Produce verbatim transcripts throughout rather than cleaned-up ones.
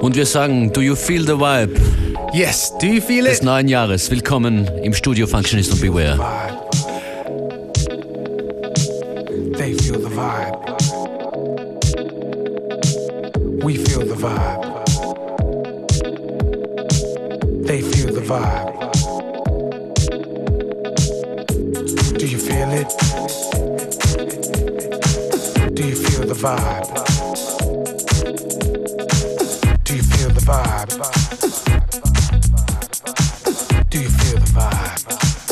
Und wir sagen, do you feel the vibe? Yes, do you feel it? Des neuen Jahres. Willkommen im Studio Functionist und Beware. They feel the vibe. We feel the vibe. They feel the vibe. Do you feel it? Do you feel the vibe? Do you feel the vibe? Do you feel the vibe?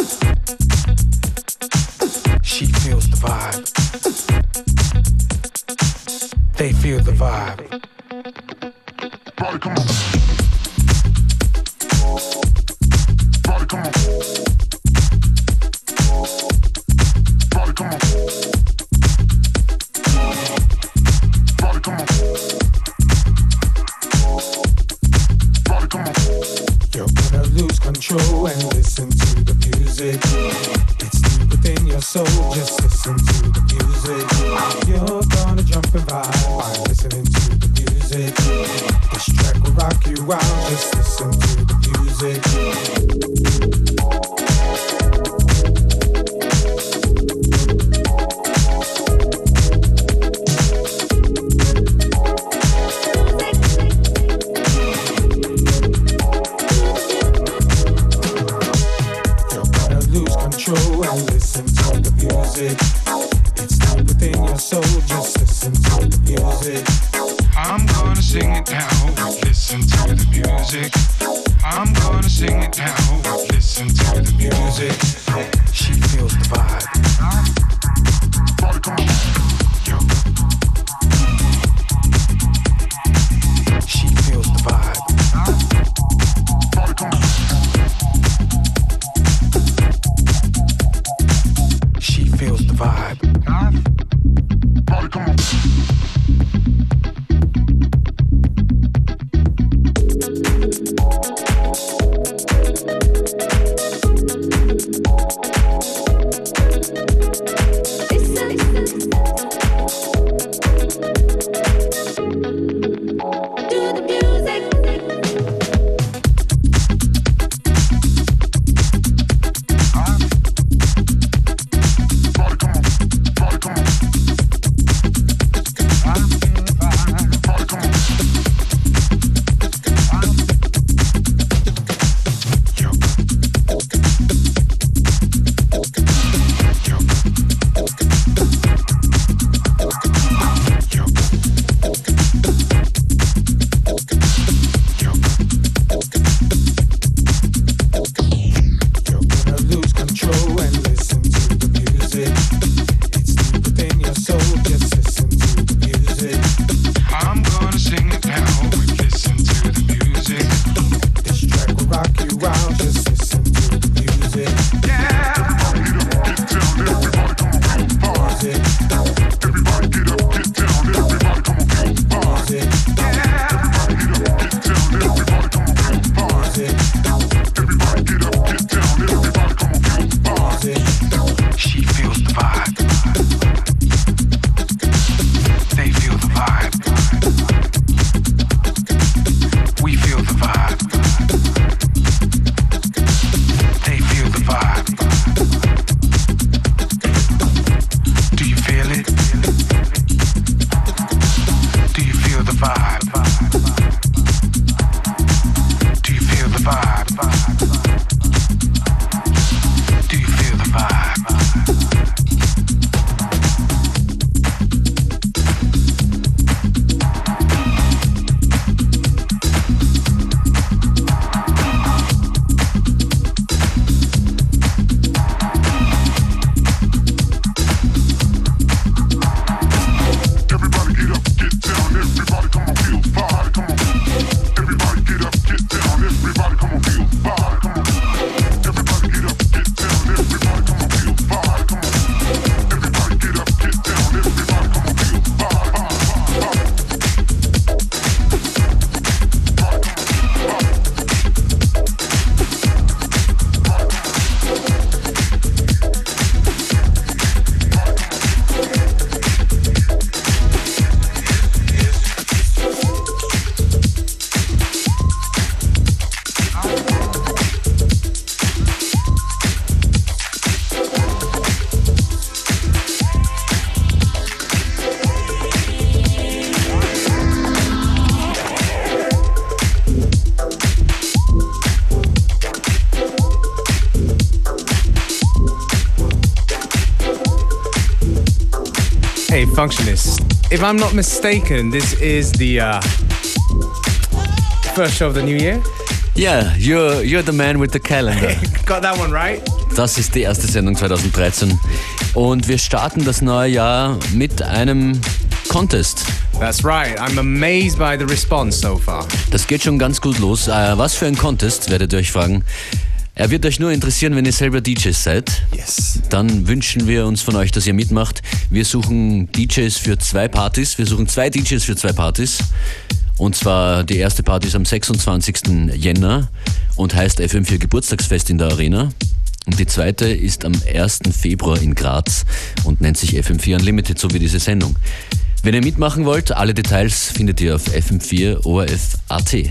She feels the vibe. They feel the vibe. Party, come on. Party, come on. Party, come on. Party, come on. Party, come on. You're gonna lose control and listen to the music. It's deep within your soul, just listen to the music. You're gonna jump and vibe by listening to the music. This track will rock you out, just listen to the music. It's deep within your soul, just listen to the music. I'm gonna sing it now, listen to the music. I'm gonna sing it now, listen to the music. She feels the vibe. Party, come on. Yo. She feels the vibe. Party, come on. She feels the vibe. Party, come on. Hey, Functionist. If I'm not mistaken, this is the uh, first show of the new year. Yeah, you're, you're the man with the calendar. Got that one right? Das ist die erste Sendung zwanzig dreizehn. Und wir starten das neue Jahr mit einem Contest. That's right. I'm amazed by the response so far. Das geht schon ganz gut los. Äh, was für ein Contest, werdet ihr euch fragen. Er wird euch nur interessieren, wenn ihr selber D Js seid. Yes. Dann wünschen wir uns von euch, dass ihr mitmacht. Wir suchen D Js für zwei Partys. Wir suchen zwei D Js für zwei Partys. Und zwar die erste Party ist am sechsundzwanzigsten Jänner und heißt F M vier Geburtstagsfest in der Arena. Und die zweite ist am ersten Februar in Graz und nennt sich F M vier Unlimited, so wie diese Sendung. Wenn ihr mitmachen wollt, alle Details findet ihr auf F M vier O R F Punkt A T.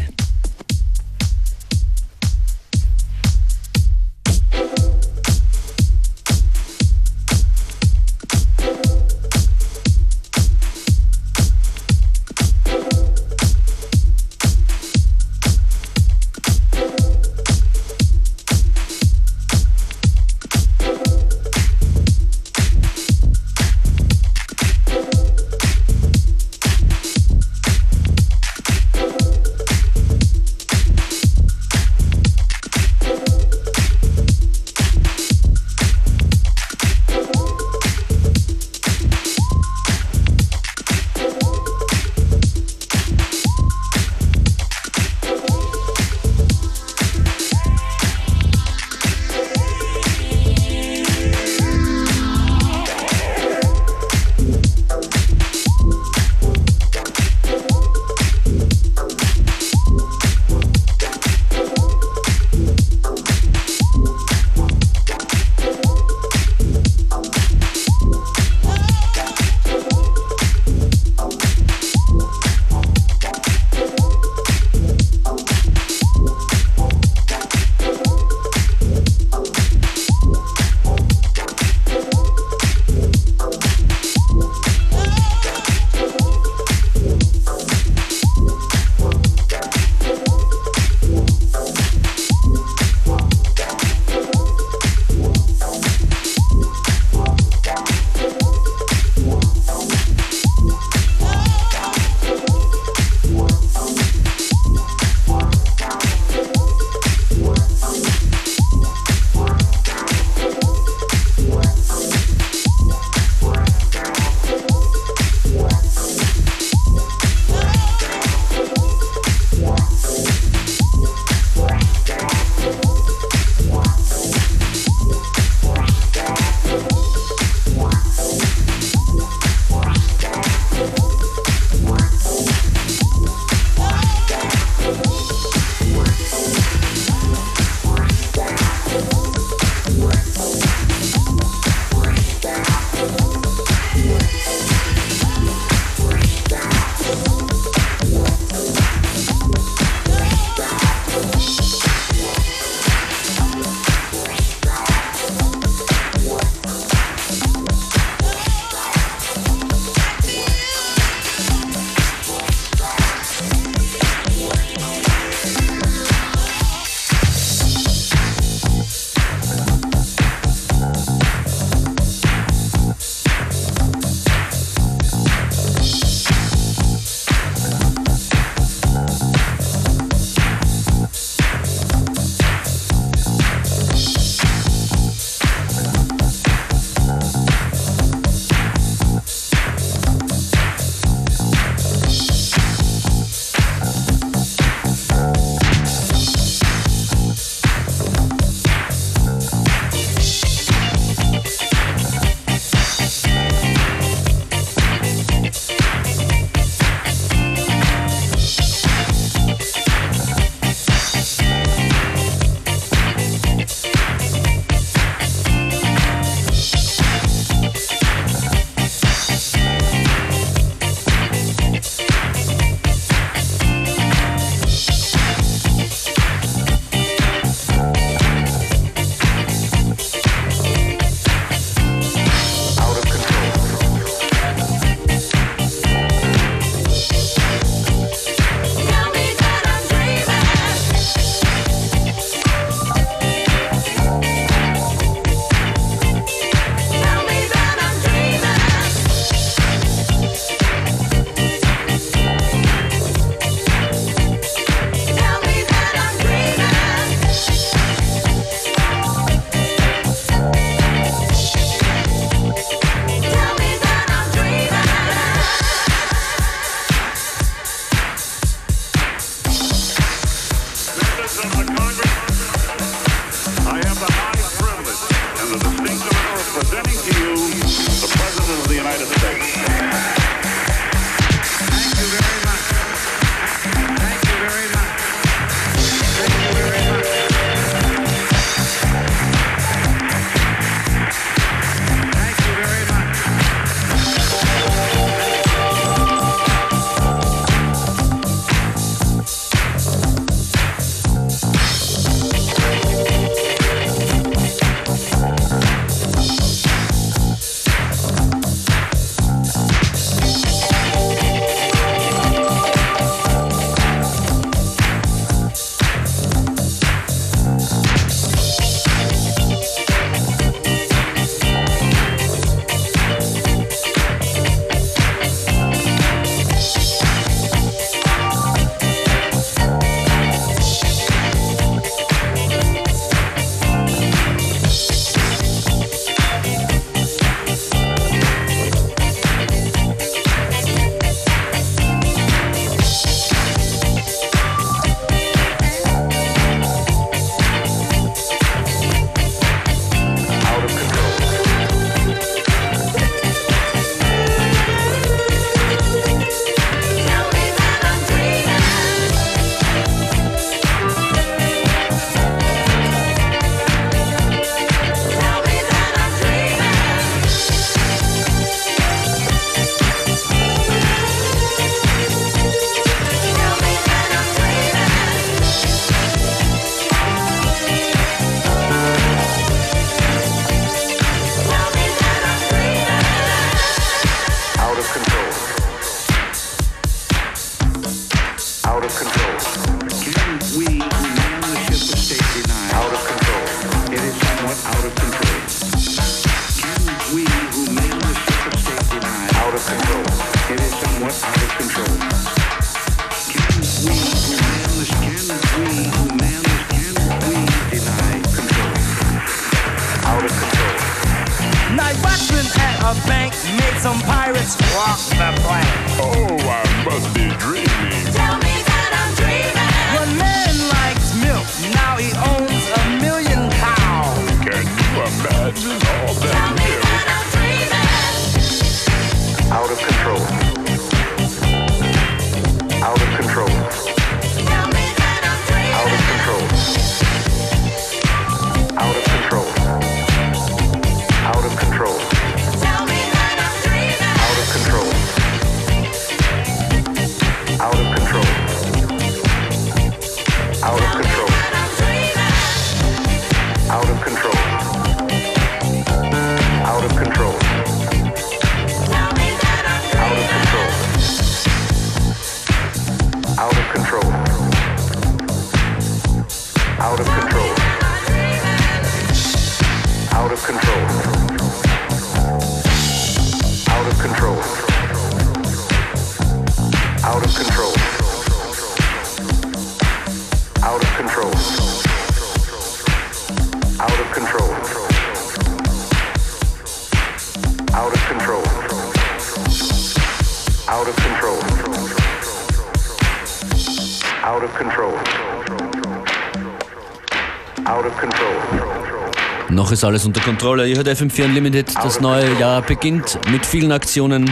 Noch ist alles unter Kontrolle. Ihr hört F M vier Unlimited. Das neue Jahr beginnt mit vielen Aktionen.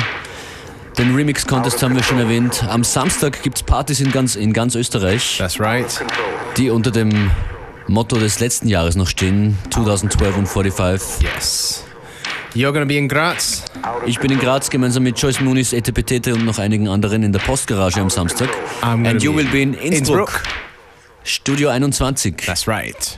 Den Remix-Contest haben wir schon erwähnt. Am Samstag gibt es Partys in ganz, in ganz Österreich. That's right. Die unter dem Motto des letzten Jahres noch stehen. zwanzig zwölf und fünfundvierzig. Yes. You're gonna be in Graz? Ich bin in Graz gemeinsam mit Joyce Muniz, Etepetete und noch einigen anderen in der Postgarage am Samstag. And you will be in Innsbruck. Innsbruck. Studio einundzwanzig. That's right.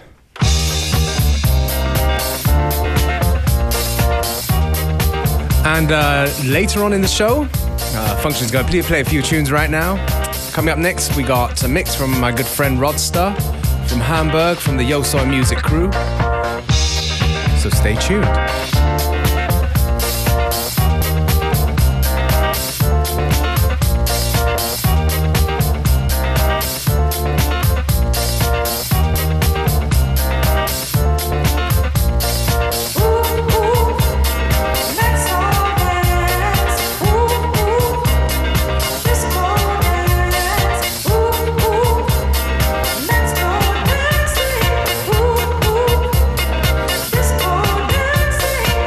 And uh, later on in the show, uh, Function's going to play a few tunes right now. Coming up next, we got a mix from my good friend Rodster from Hamburg, from the Yo Soy Music crew. So stay tuned. Ooh, ooh, let's go dancing.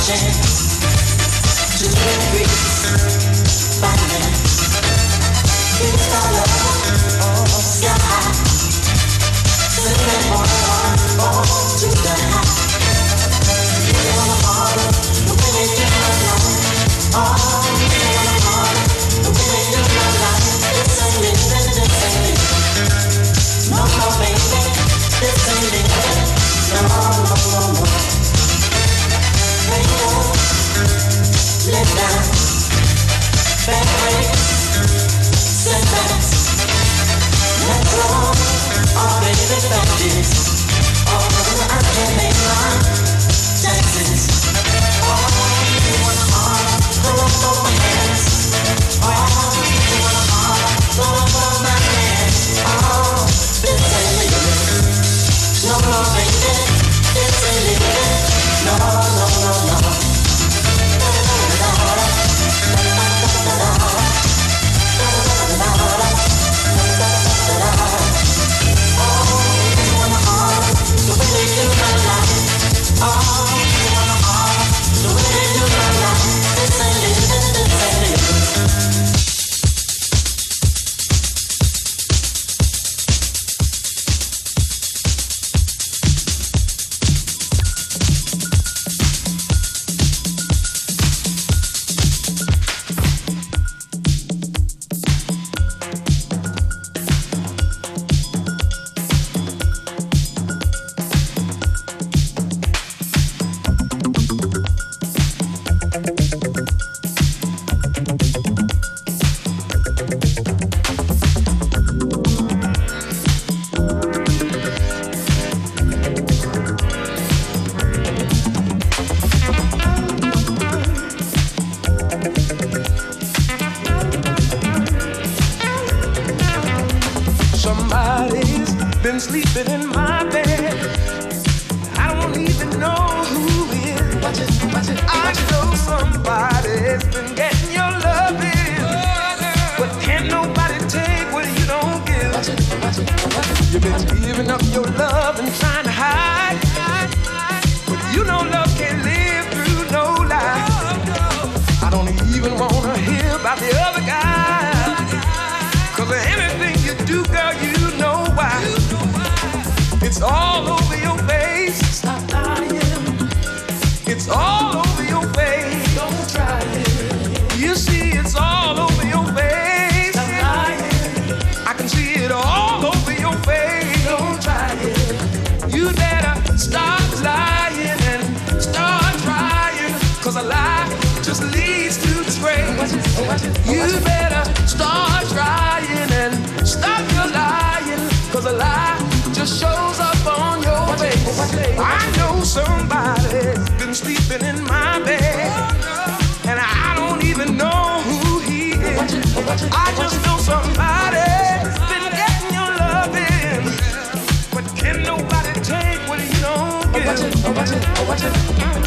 been sleeping in my bed. I don't even know who is. Watch it, watch it, I know somebody's been getting your loving, but can't nobody take what you don't give. Watch it, watch it, watch it. You've been giving up your love and trying to hide, but you know love can't live through no lie. I don't even wanna hear about the other guy, 'cause of anything you do, girl, you know why. It's all over your face. Stop lying. It's all over your face. Don't try it. You see, it's all over your face. Stop lying. I can see it all over your face. Don't try it. You better stop lying and start trying, 'cause a lie just leads to disgrace. You better start trying and stop your lying, 'cause a lie just shows up on your face. I know somebody's been sleeping in my bed, and I don't even know who he is. I just know somebody's been getting your loving, but can nobody take what you don't give?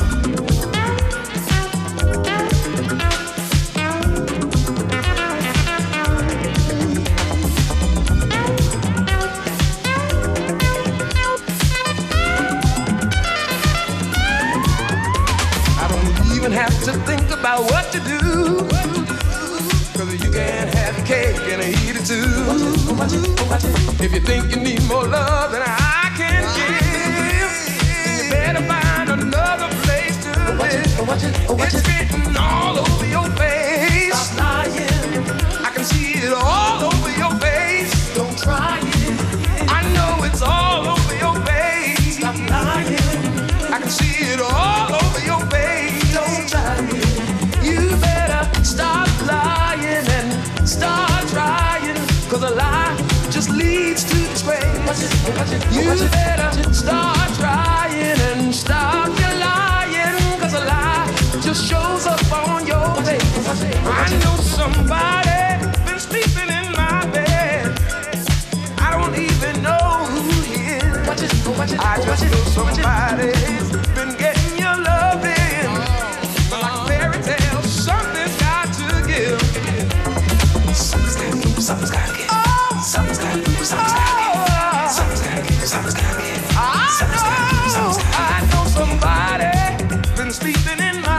Have to think about what to do, 'cause you can't have your cake and eat it too. If you think you need more love than I can give, then you better find another place to live. It's written all over your face. Stop lying. I can see it all over your face. Don't try it. I know it's all over your face. Stop lying. I can see it all over your face. Don't try it. You better stop lying and start trying, 'cause a lie just leads to disgrace. You better start trying and stop your lying, 'cause a lie just shows up on your face. I know somebody been sleeping in my bed. I don't even know who he is. I just know somebody's been getting your loving. Like fairy tales, something's got to give. Something's got to give, something's got to give. Something's got to give, something's got to give. Something's got to give, something's got to give. I know, I know somebody been sleeping in my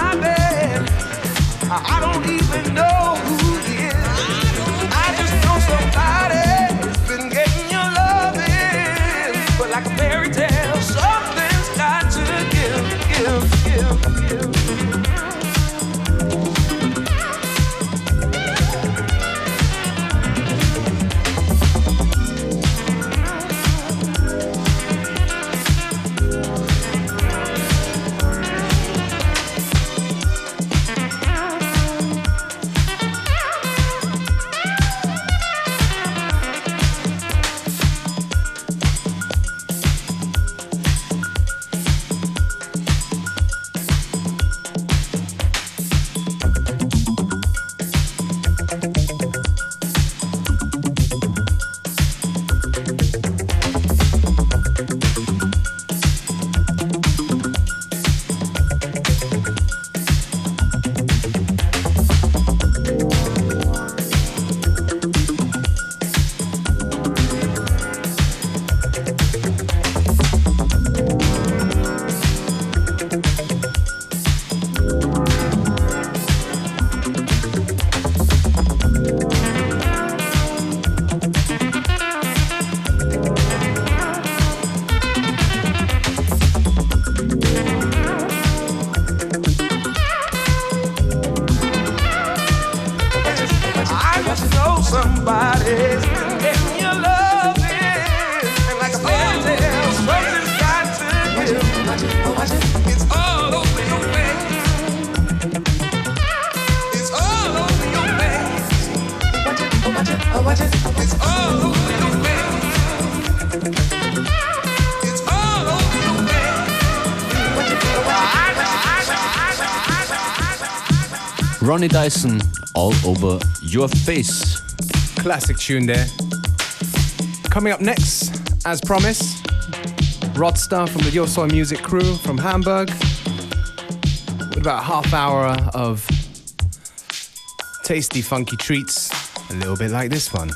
Ronnie Dyson, All Over Your Face. Classic tune there. Coming up next, as promised, Rodstar from the Yo Soy Music crew from Hamburg. With about a half hour of tasty, funky treats, a little bit like this one.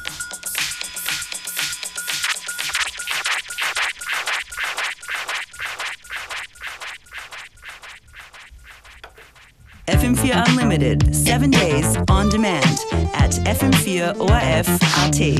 F M four Unlimited, seven days on demand at F M four O R F R T.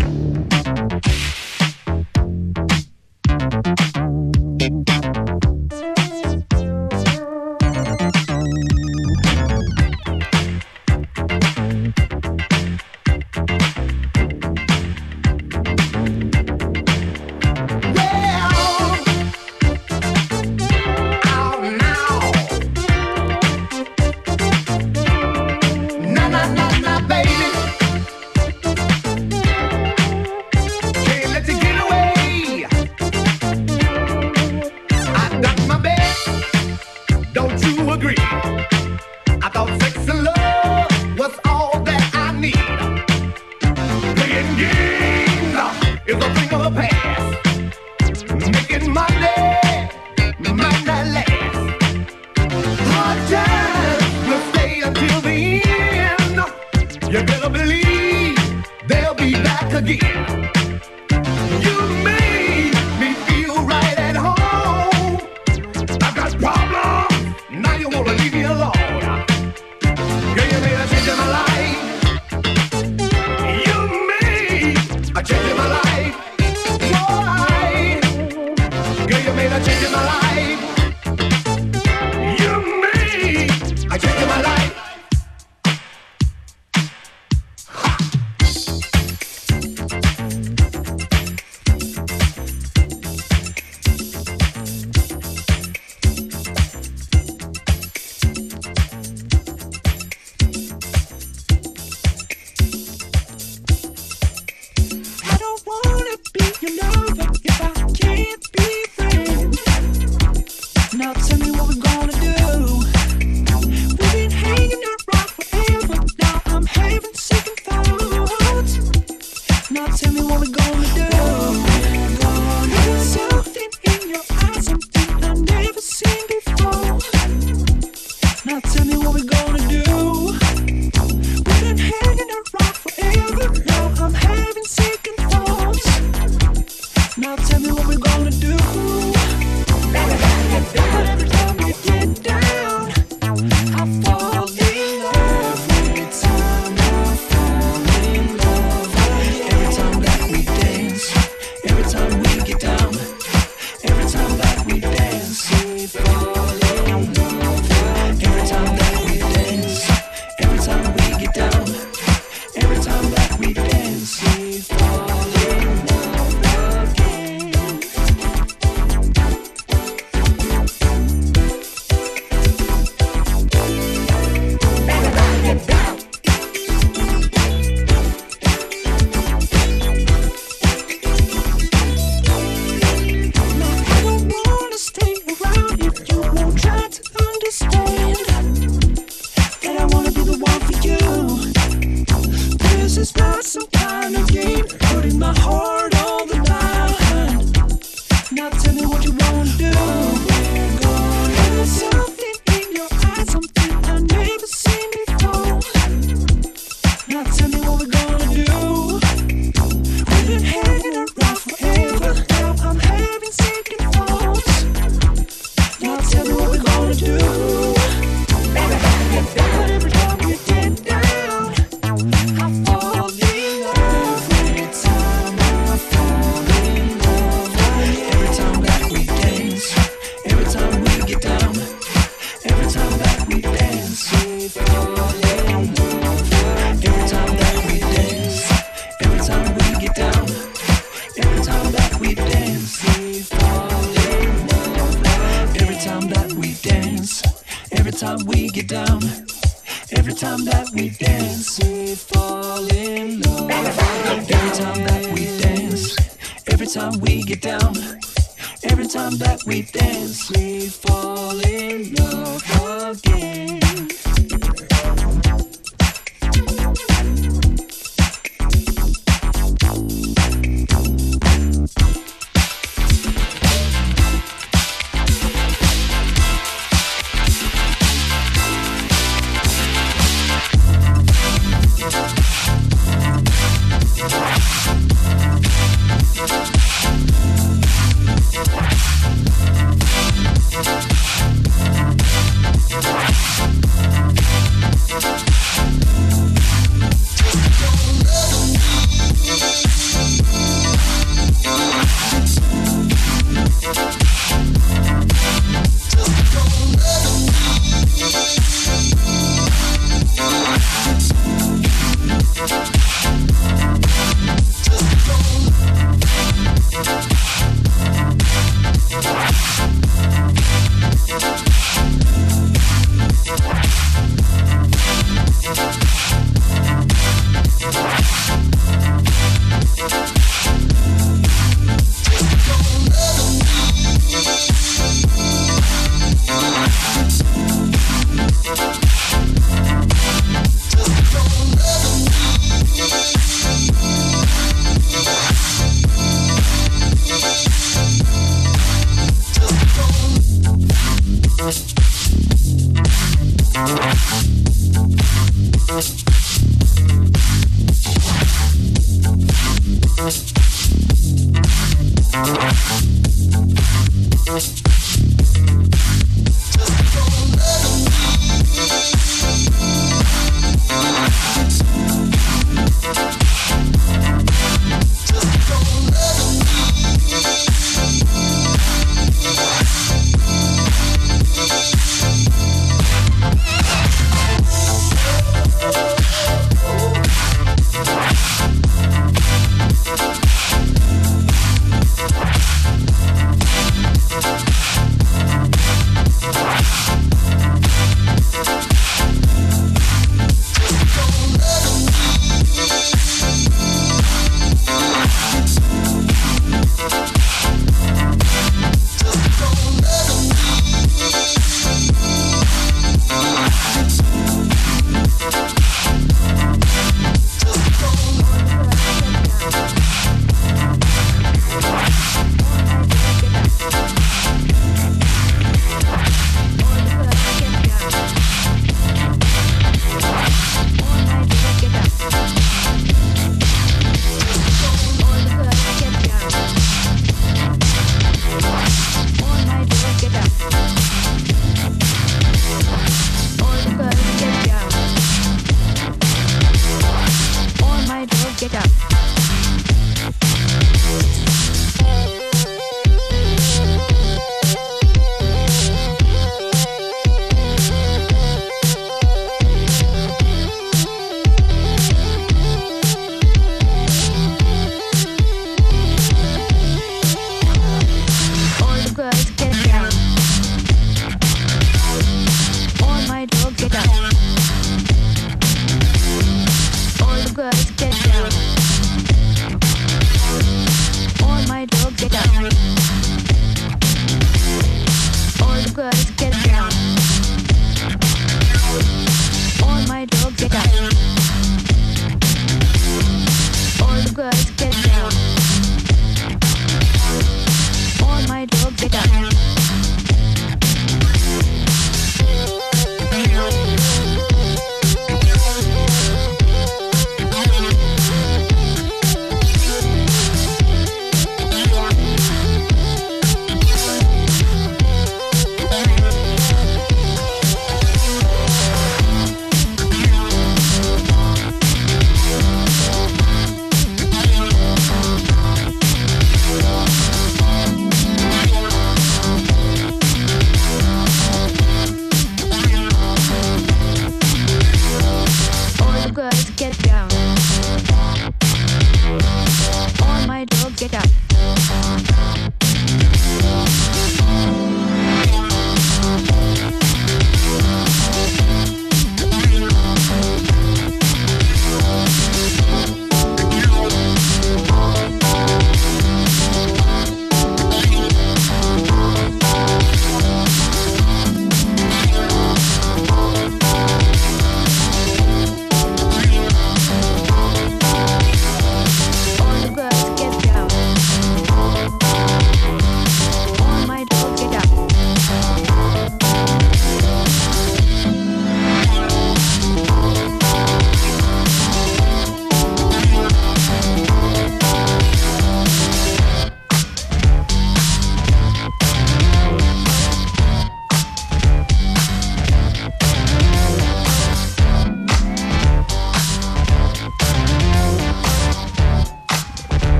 Get up.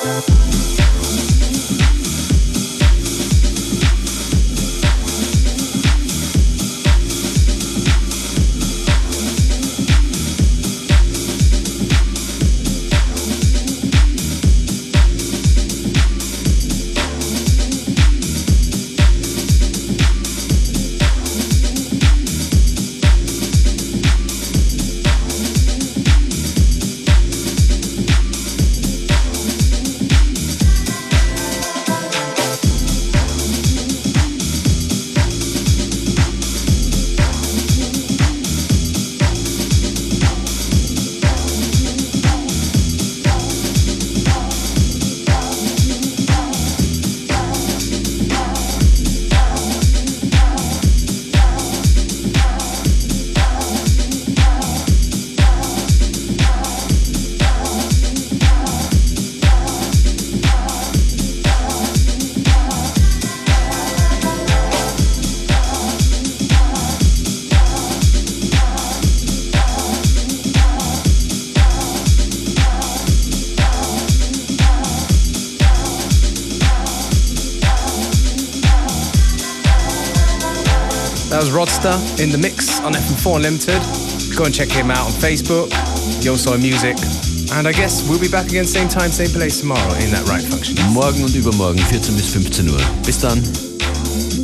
That was Rodster in the mix on F M four Unlimited. Go and check him out on Facebook, Yosoy Music. And I guess we'll be back again same time, same place tomorrow in that right function. Morgen und übermorgen vierzehn bis fünfzehn Uhr. Bis dann.